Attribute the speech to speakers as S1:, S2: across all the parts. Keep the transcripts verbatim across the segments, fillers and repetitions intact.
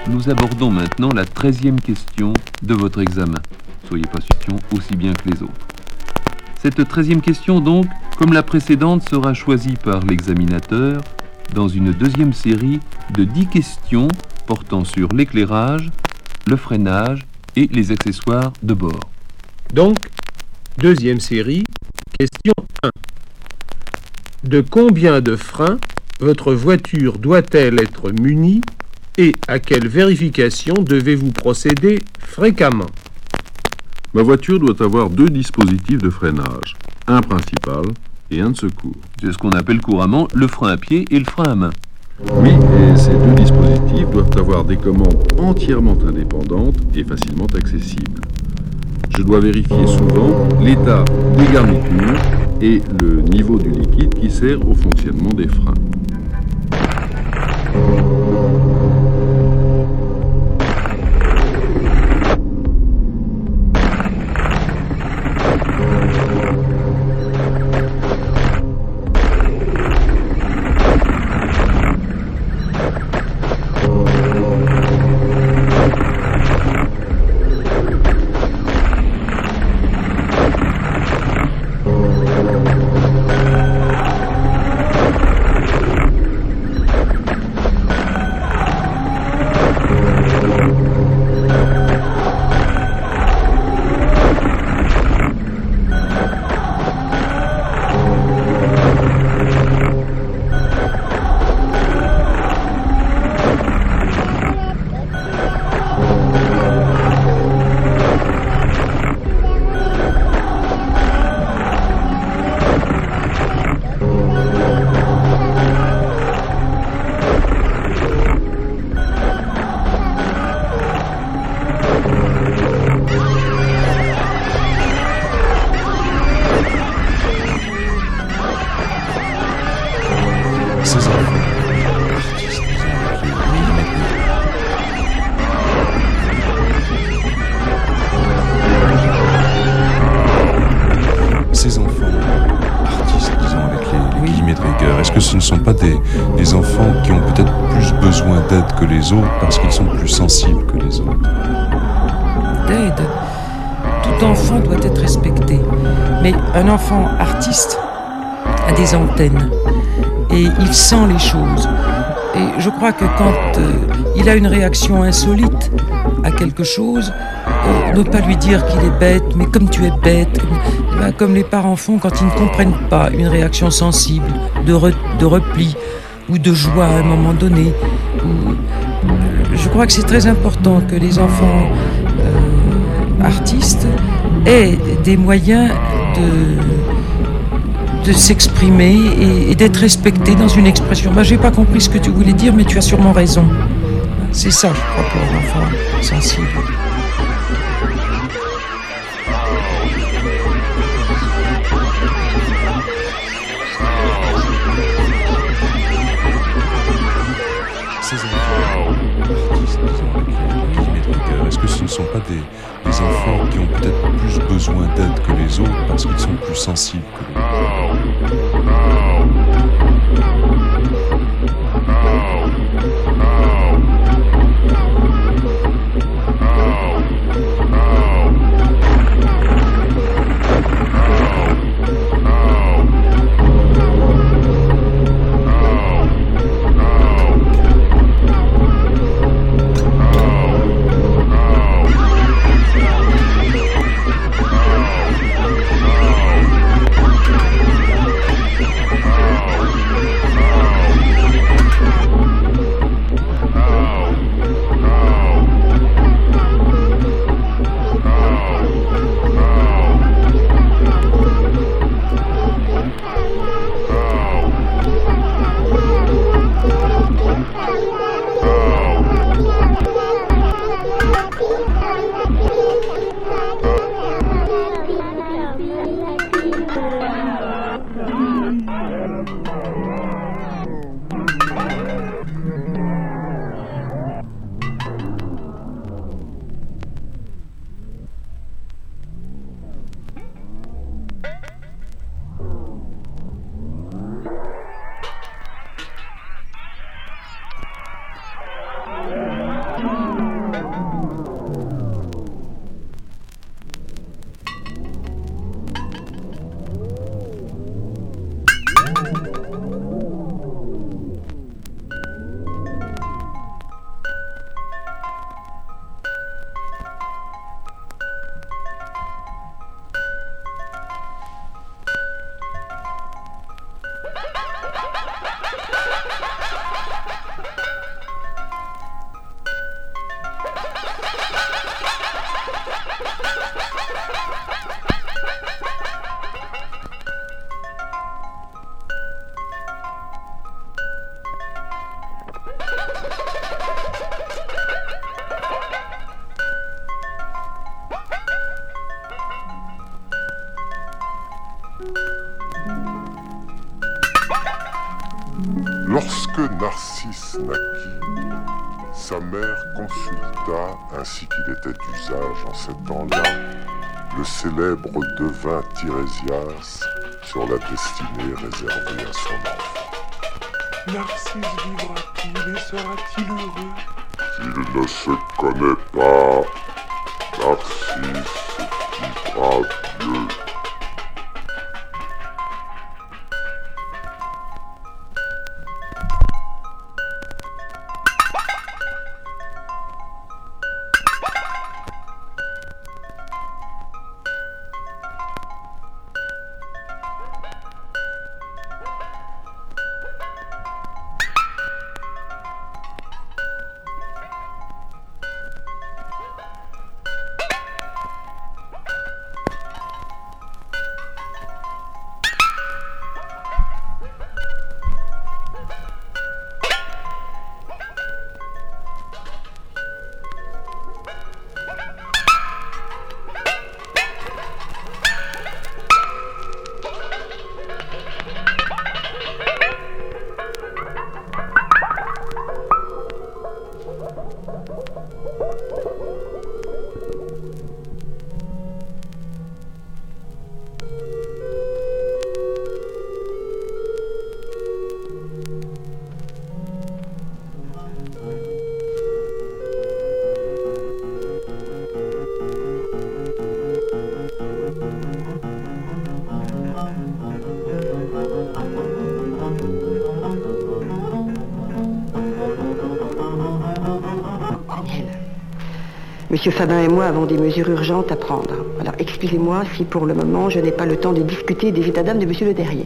S1: Nous abordons maintenant la treizième question de votre examen. Soyez pas question aussi bien que les autres. Cette treizième question, donc, comme la précédente, sera choisie par l'examinateur dans une deuxième série de dix questions portant sur l'éclairage, le freinage et les accessoires de bord.
S2: Donc, deuxième série, question un. De combien de freins votre voiture doit-elle être munie et à quelle vérification devez-vous procéder fréquemment?
S3: Ma voiture doit avoir deux dispositifs de freinage, un principal et un de secours.
S1: C'est ce qu'on appelle couramment le frein à pied et le frein à main.
S3: Oui, et ces deux dispositifs doivent avoir des commandes entièrement indépendantes et facilement accessibles. Je dois vérifier souvent l'état des garnitures et le niveau du liquide qui sert au fonctionnement des freins.
S4: Ces enfants, artistes, disons avec les, les guillemets de rigueur, est-ce que ce ne sont pas des, des enfants qui ont peut-être plus besoin d'aide que les autres parce qu'ils sont plus sensibles que les autres?
S5: D'aide. Tout enfant doit être respecté. Mais un enfant artiste a des antennes et il sent les choses. Et je crois que quand euh, il a une réaction insolite à quelque chose, euh, ne pas lui dire qu'il est bête, mais comme tu es bête, comme, ben, comme les parents font quand ils ne comprennent pas une réaction sensible, de, re, de repli ou de joie à un moment donné. Ou, euh, je crois que c'est très important que les enfants euh, artistes aient des moyens de... de s'exprimer et, et d'être respecté dans une expression. Ben, j'ai pas compris ce que tu voulais dire, mais tu as sûrement raison. C'est ça, je crois, pour un enfant sensible.
S4: Ces enfants, artistes, disons avec les guillemets de rigueur, est-ce que ce ne sont pas des, des enfants qui ont peut-être plus besoin d'aide que les autres parce qu'ils sont plus sensibles que les autres?
S6: Lorsque Narcisse naquit, sa mère consulta, ainsi qu'il était d'usage en ces temps-là, le célèbre devin Tirésias sur la destinée réservée à son enfant.
S7: Narcisse vivra-t-il et sera-t-il heureux?
S6: Il ne se connaît pas. Narcisse vivra vieux.
S8: Monsieur Fabin et moi avons des mesures urgentes à prendre. Alors excusez-moi si pour le moment je n'ai pas le temps de discuter des états d'âme de Monsieur Le Terrier.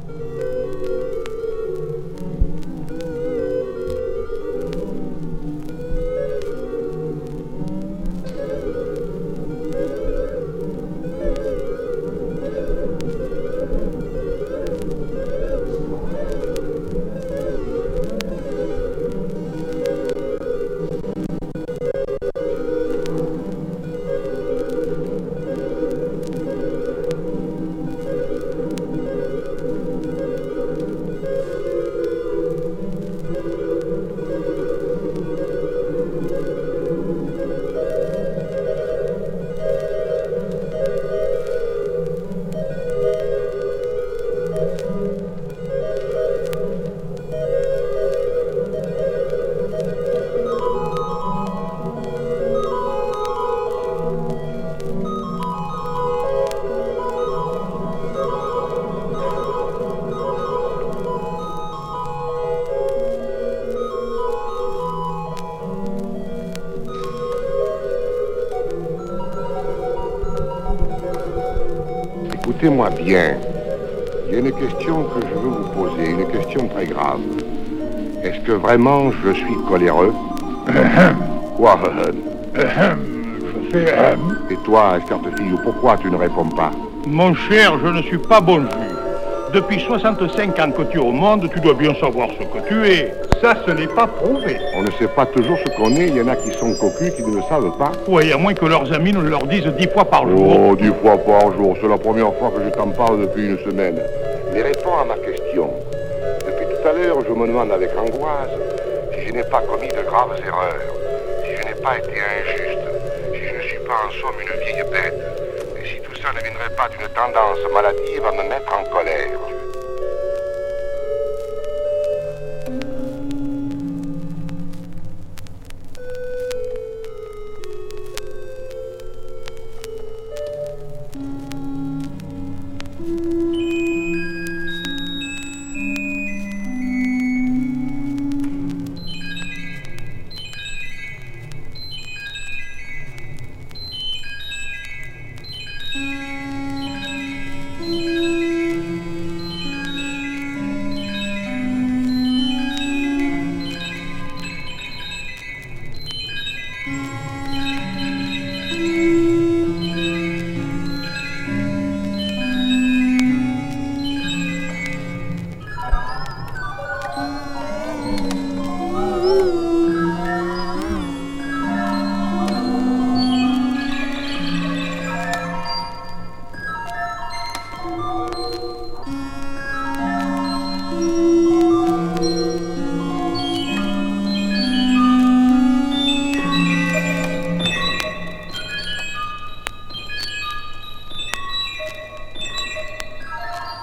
S9: Écoutez-moi bien. Il y a une question que je veux vous poser, une question très grave. Est-ce que vraiment je suis coléreux? Quoi?
S10: Je fais...
S9: Et toi, Escartefille, pourquoi tu ne réponds pas?
S10: Mon cher, je ne suis pas bon juge. Depuis soixante-cinq ans que tu es au monde, tu dois bien savoir ce que tu es. Ça, ce n'est pas prouvé.
S9: On ne sait pas toujours ce qu'on est. Il y en a qui sont cocus, qui ne le savent pas.
S10: Oui, à moins que leurs amis ne leur disent dix fois par jour.
S9: Oh, dix fois par jour. C'est la première fois que je t'en parle depuis une semaine. Mais réponds à ma question. Depuis tout à l'heure, je me demande avec angoisse si je n'ai pas commis de graves erreurs, si je n'ai pas été injuste, si je ne suis pas en somme une vieille bête, et si tout ça ne viendrait pas d'une tendance maladive à me mettre en colère.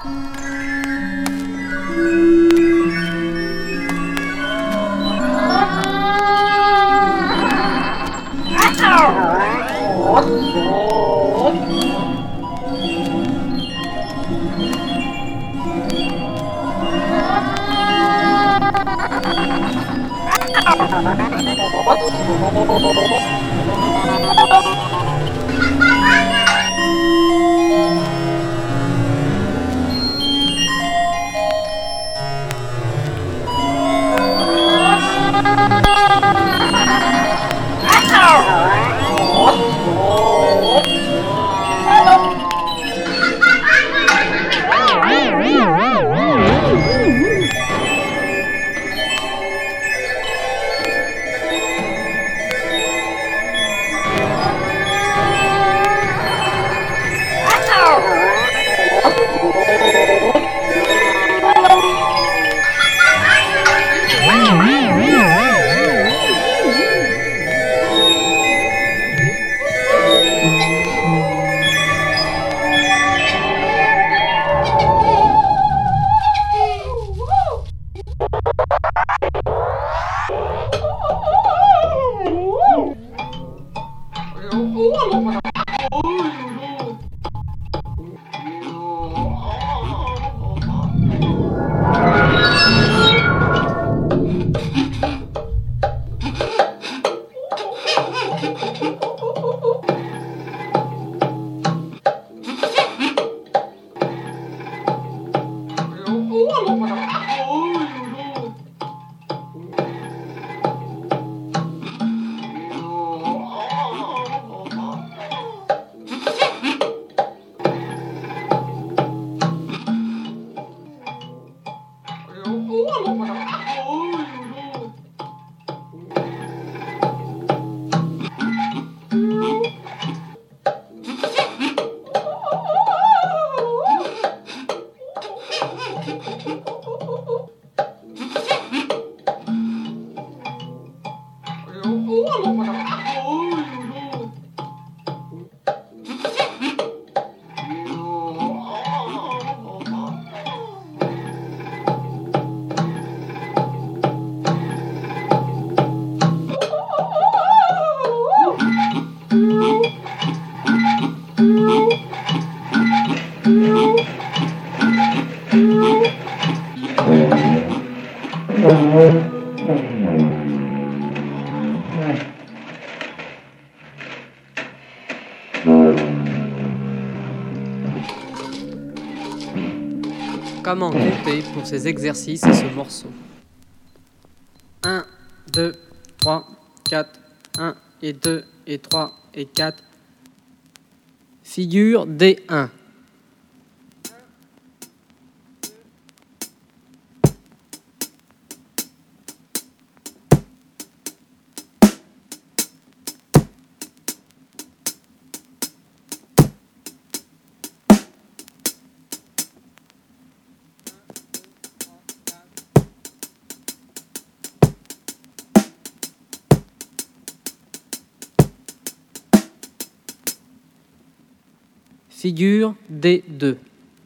S11: Comment compter pour ces exercices et ce morceau? un, deux, trois, quatre, un et deux et trois et quatre. Figure D un. Figure D deux.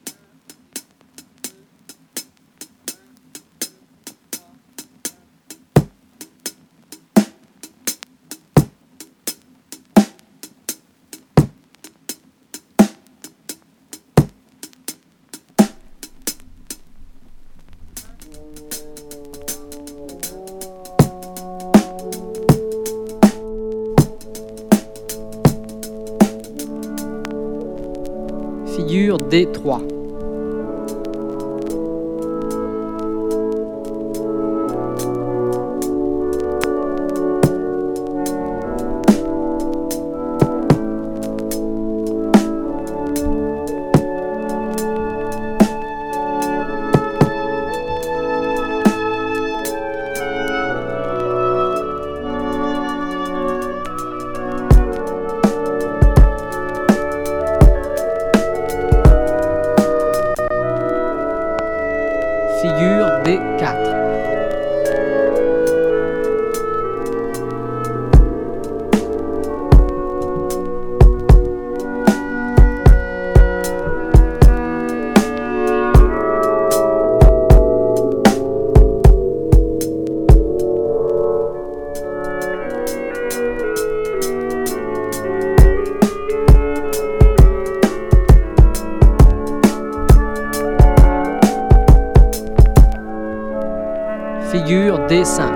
S11: Figure D trois. Figure D quatre. Figure D simple.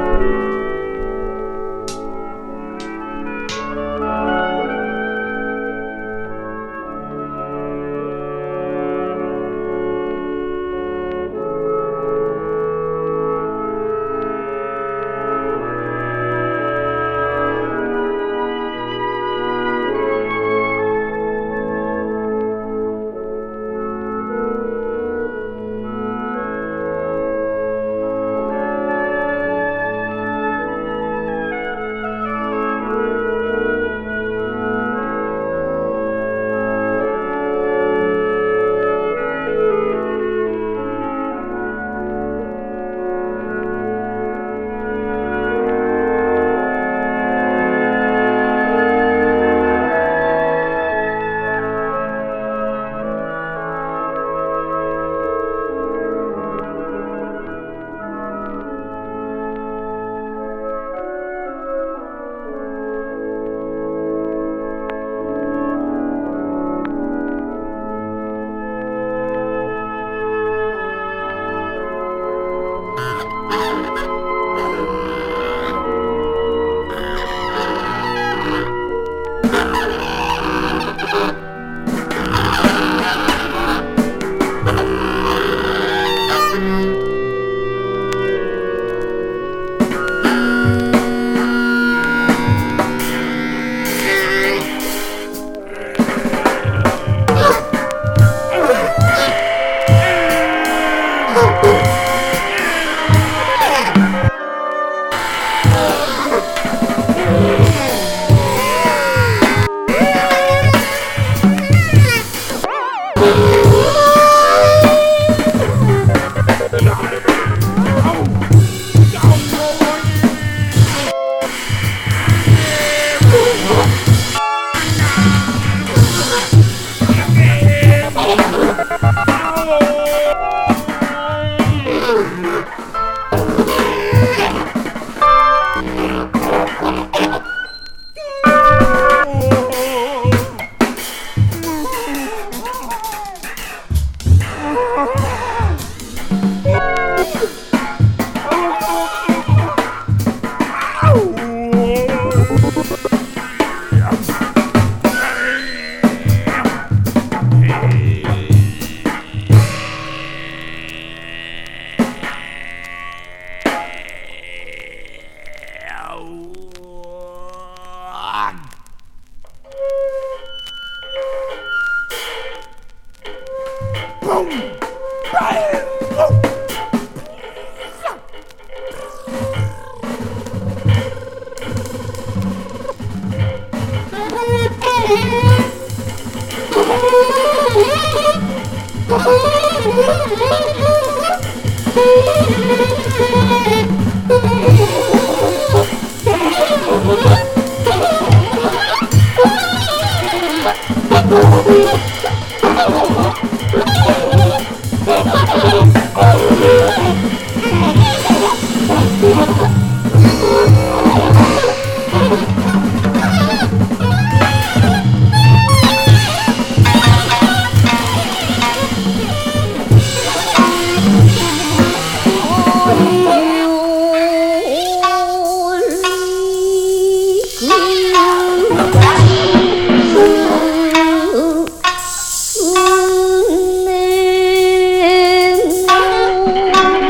S12: Ooh.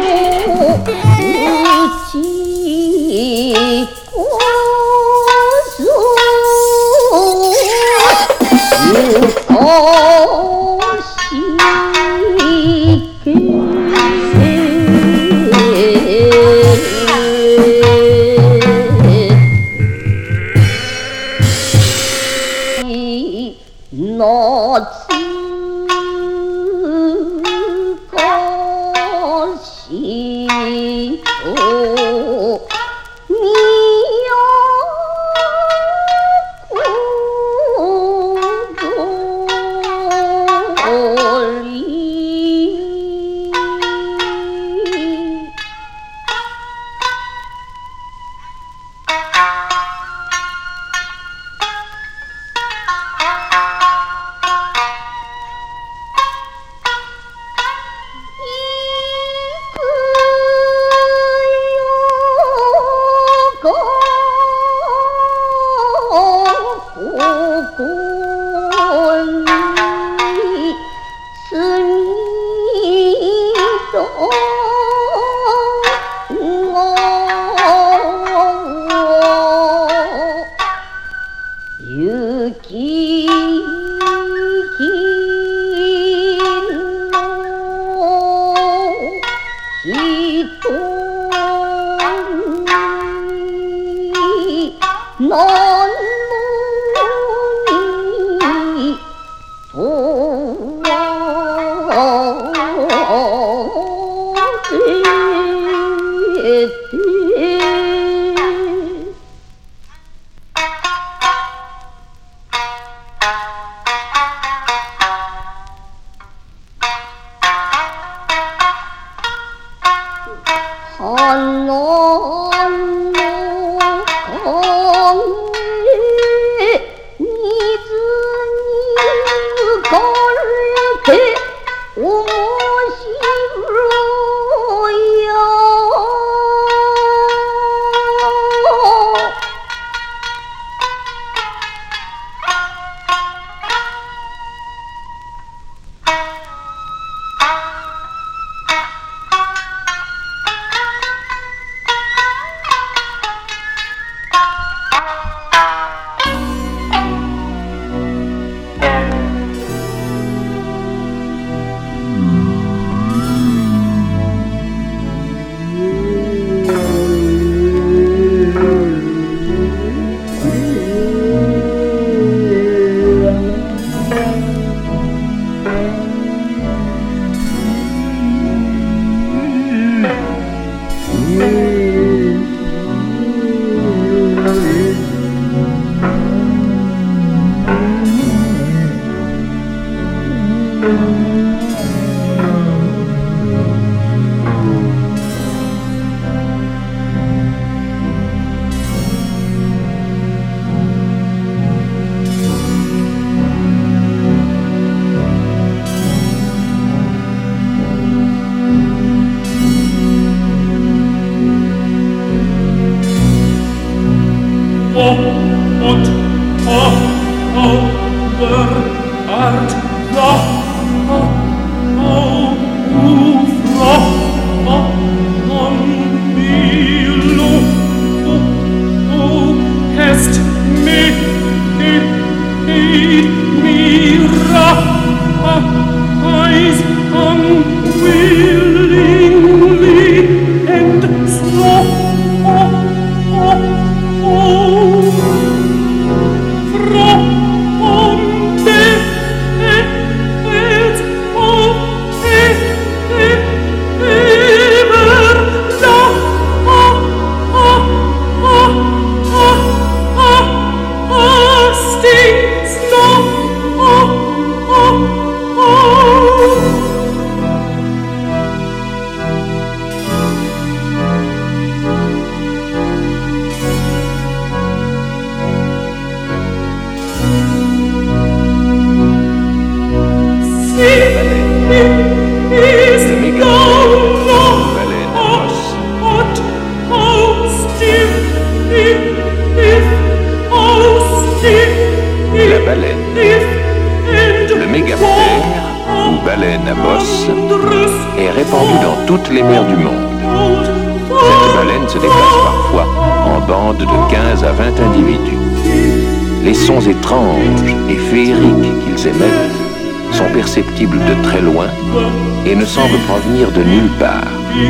S12: semble provenir de nulle part.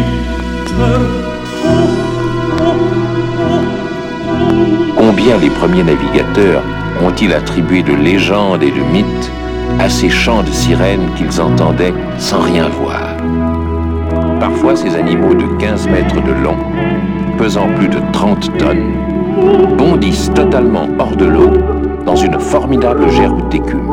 S12: Combien les premiers navigateurs ont-ils attribué de légendes et de mythes à ces chants de sirènes qu'ils entendaient sans rien voir. Parfois, ces animaux de quinze mètres de long, pesant plus de trente tonnes, bondissent totalement hors de l'eau dans une formidable gerbe d'écume.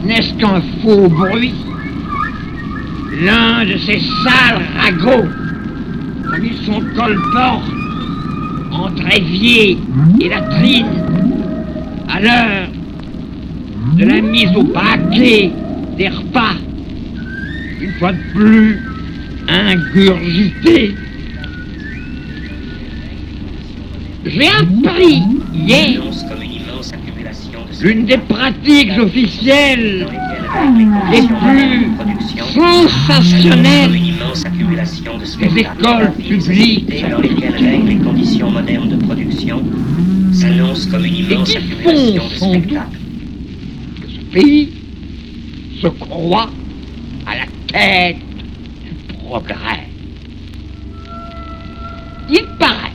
S13: n'est-ce qu'un faux bruit? L'un de ces sales ragots, comme ils sont colportent entre évier et latrine, à l'heure de la mise au paquet des repas, une fois de plus ingurgité. J'ai appris hier l'une des pratiques officielles les plus sensationnelles des écoles publiques
S14: dans lesquelles règnent les conditions modernes de production s'annonce comme une immense accumulation de spectacles.
S13: Ce pays se croit à la tête du progrès. Il paraît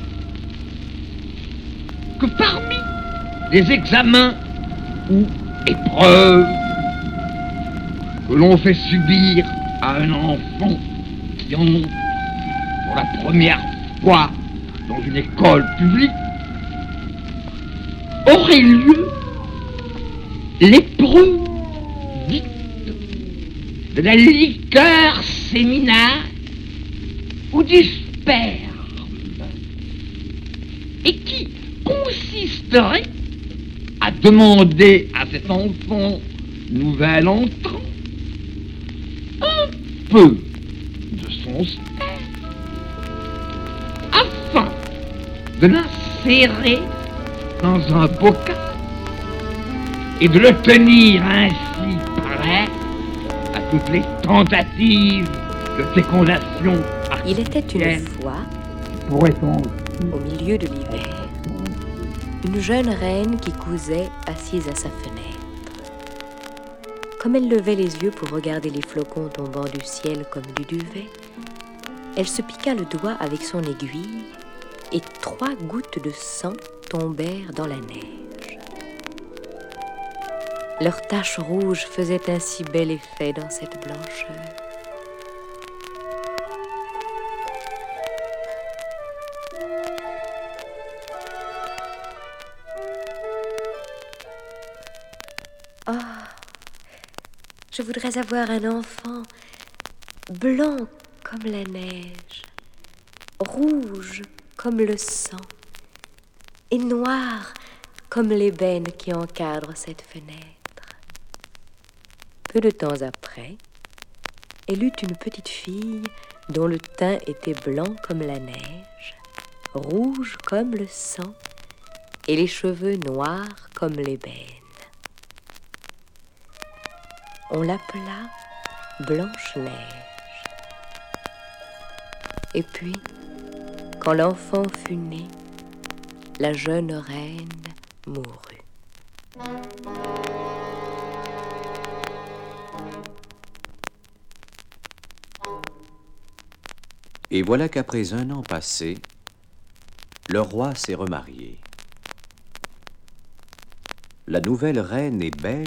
S13: que parmi les examens ou épreuves que l'on fait subir à un enfant qui entre pour la première fois dans une école publique, aurait lieu l'épreuve dite de la liqueur séminale ou du sperme, et qui consisterait à demander à cet enfant nouvel entrant un peu de son sperme afin de l'insérer dans un bocal et de le tenir ainsi prêt à toutes les tentatives de fécondation artificielle.
S15: Il était une fois, au milieu de l'hiver, une jeune reine qui cousait assise à sa fenêtre. Comme elle levait les yeux pour regarder les flocons tombant du ciel comme du duvet, elle se piqua le doigt avec son aiguille et trois gouttes de sang tombèrent dans la neige. Leur tache rouge faisait un si bel effet dans cette blancheur. Oh, je voudrais avoir un enfant blanc comme la neige, rouge comme le sang et noir comme l'ébène qui encadre cette fenêtre. Peu de temps après, elle eut une petite fille dont le teint était blanc comme la neige, rouge comme le sang et les cheveux noirs comme l'ébène. On l'appela Blanche-Neige. Et puis, quand l'enfant fut né, la jeune reine mourut.
S16: Et voilà qu'après un an passé, le roi s'est remarié. La nouvelle reine est belle,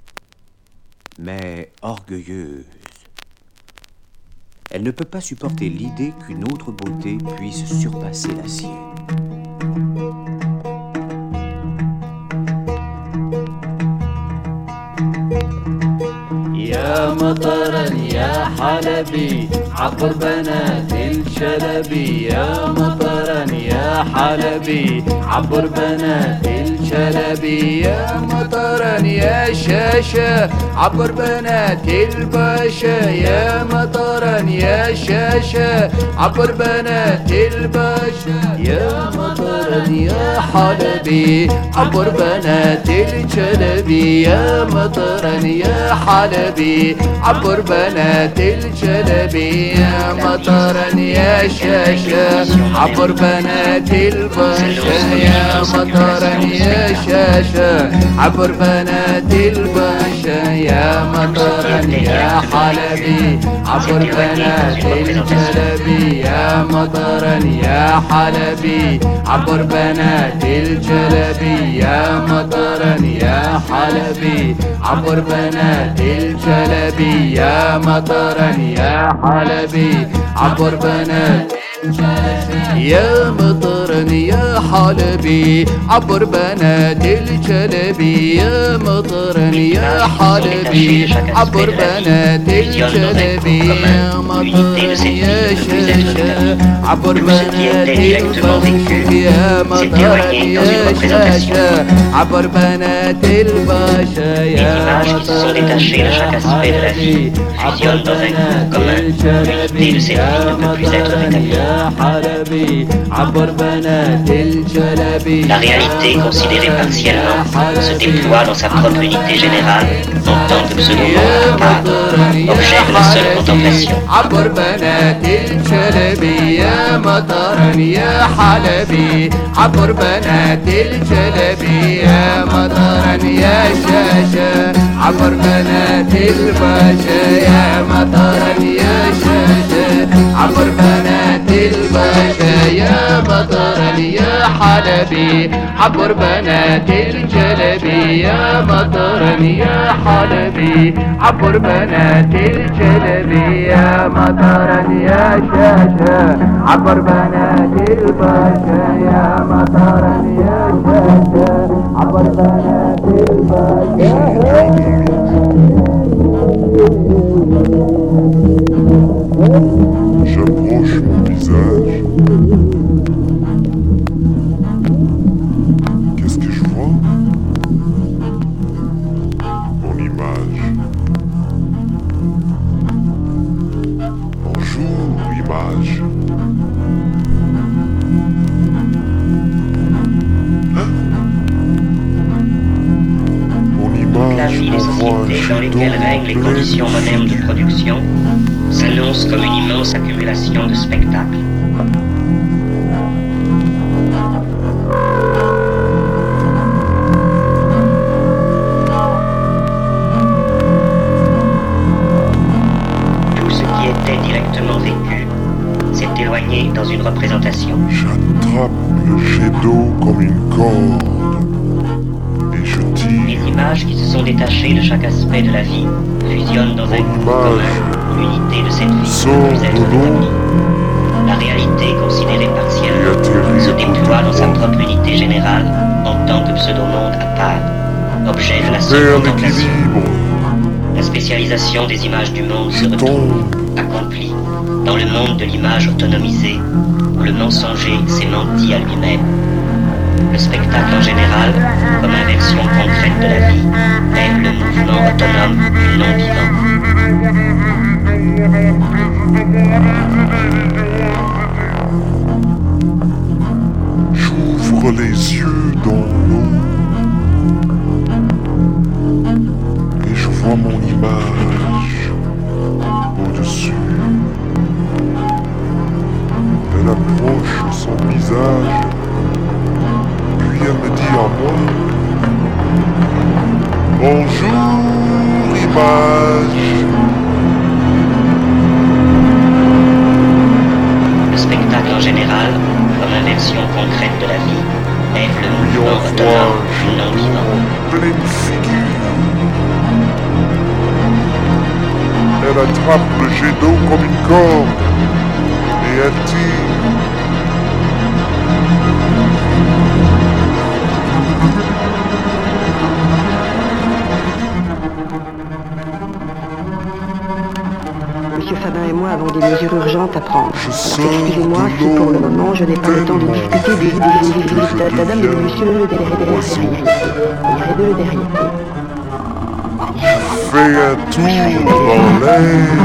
S16: mais orgueilleuse. Elle ne peut pas supporter l'idée qu'une autre beauté puisse surpasser la sienne.
S17: يا مطرا يا حلبي عبر بنات الشلبي يا مطرا يا حلبي عبر بنات الشلبي يا مطرا يا شاشة عبر بنات الباشا يا مطرا يا شاشة عبر بنات الباشا يا مطرا يا حلبي عبر بنات الشلبي يا مطرا يا حلبي عبر بنات الجلبي يا مطرا يا شاشة عبر بنات الباشا يا مطرا يا شاشة عبر بنات الباشا يا مطرا يا حلبي عبر بنات الجلبي يا مطرا يا حلبي عبر بنات الجلبي يا مطرا يا حلبي عبر بنات الجلبي يا مطرا يا حلبي عبر بنات يا مطرني يا حلبي عبر بنات الجلبي يا مطرني يا حلبي عبر بنات الجلبي يا مطرني يا شاشة عبر بنات الباشا يا مطرني يا شاشة عبر بنات الباشا يا مطرني يا حلبي عبر بنات الجلبي يا مطرني يا حلبي عبر بنات الجلبي.
S14: La réalité, considérée partiellement, se déploie dans sa propre unité générale en tant que pseudo-monde cadre, objet de la seule contemplation.
S17: عبر بنات الجلبي يا مطرني يا حلبي عبر بنات الجلبي يا مطرني يا شاشة عبر بنات الباشا يا مطرني يا شاشة عبر بنات الباشا يا مطرني يا حلبي عبر بنات الجلبي يا مطرني يا حلبي عبر بنات الجلبي يا مطرني يا شاشة عبر بنات الباشا يا مطرني يا شاشة عبر بنات الباشا.
S6: J'approche mon visage. Qu'est-ce que je vois? Mon image. Bonjour, image. Hein? Mon image.
S14: La vie des sociétés dans lesquelles règnent les conditions modernes de production s'annonce comme une immense accumulation de spectacles. Tout ce qui était directement vécu s'est éloigné dans une représentation.
S6: J'attrape le jet d'eau comme une corde et je tire.
S14: Les images qui se sont détachées de chaque aspect de la vie fusionnent dans un groupe commun. L'unité de cette vie ne peut plus être établie. La réalité, considérée partiellement, se déploie dans sa propre unité générale en tant que pseudo-monde à part, objet de la seule contemplation. La spécialisation des images du monde se retrouve, accomplie, dans le monde de l'image autonomisée, où le mensonger s'est menti à lui-même. Le spectacle en général, comme inversion concrète de la vie, est le mouvement autonome du non-vivant.
S6: J'ouvre les yeux dans l'eau et je vois mon image au-dessus. Elle approche son visage, puis elle me dit à moi: bonjour, image.
S14: Le spectacle en général, comme inversion concrète de la vie, est le mouvement autonome du non-vivant.
S6: Pleine figure. Elle attrape le jet d'eau comme une corde et elle tire.
S8: Monsieur Fabin et moi avons des mesures urgentes à prendre. Excusez-moi si pour le moment je n'ai pas le temps de discuter des des la dame de monsieur le derrière. Le derrière.
S6: Fais un tour dans l'air.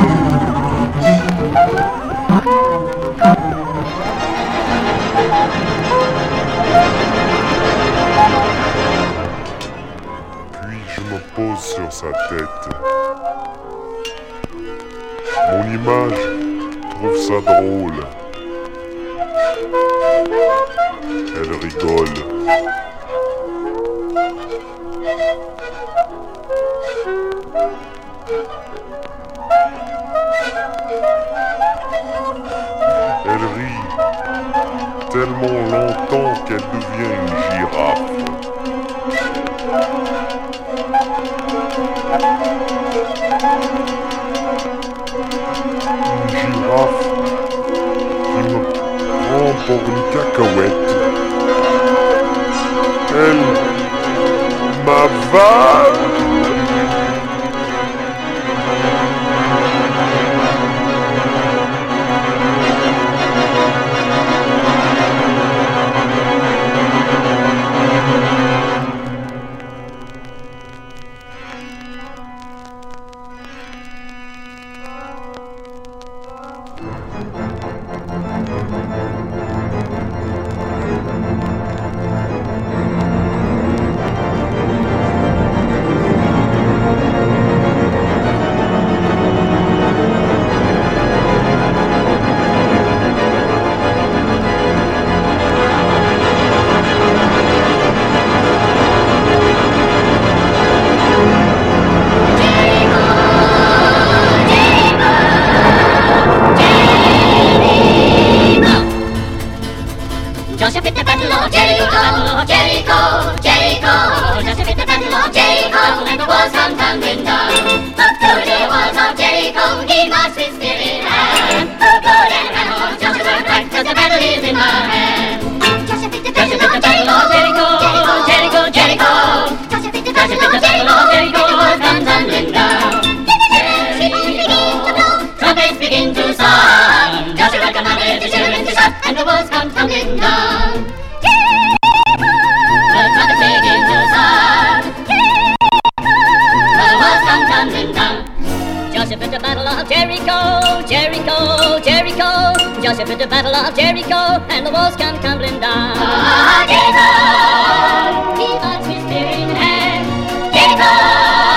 S6: Puis je me pose sur sa tête. Mon image trouve ça drôle. Elle rigole. Elle rit tellement longtemps qu'elle devient une girafe. Une girafe qui me rapport une cacahuète. Elle m'avale.
S18: Joseph at the battle of Jericho, Jericho, Jericho. Joseph at the battle of Jericho, and the walls come tumbling down. Up to the walls of Jericho, he marched with spear in hand. Who could and ran, Joseph were right, 'cause the battle is in her hand. Joseph at the battle of Jericho, Jericho, Jericho. Joseph at the battle of Jericho, Jericho, the walls come tumbling down. Trumpets begin to sound. Joshua commanded the children to shout, and the walls come tumbling down. The trumpets begin to sound. The walls come tumbling down. Joseph at the battle of Jericho, Jericho, Jericho. Joseph at the battle of Jericho, and the walls come tumbling down. Ah, Jericho! He marched with spear in hand. Jericho!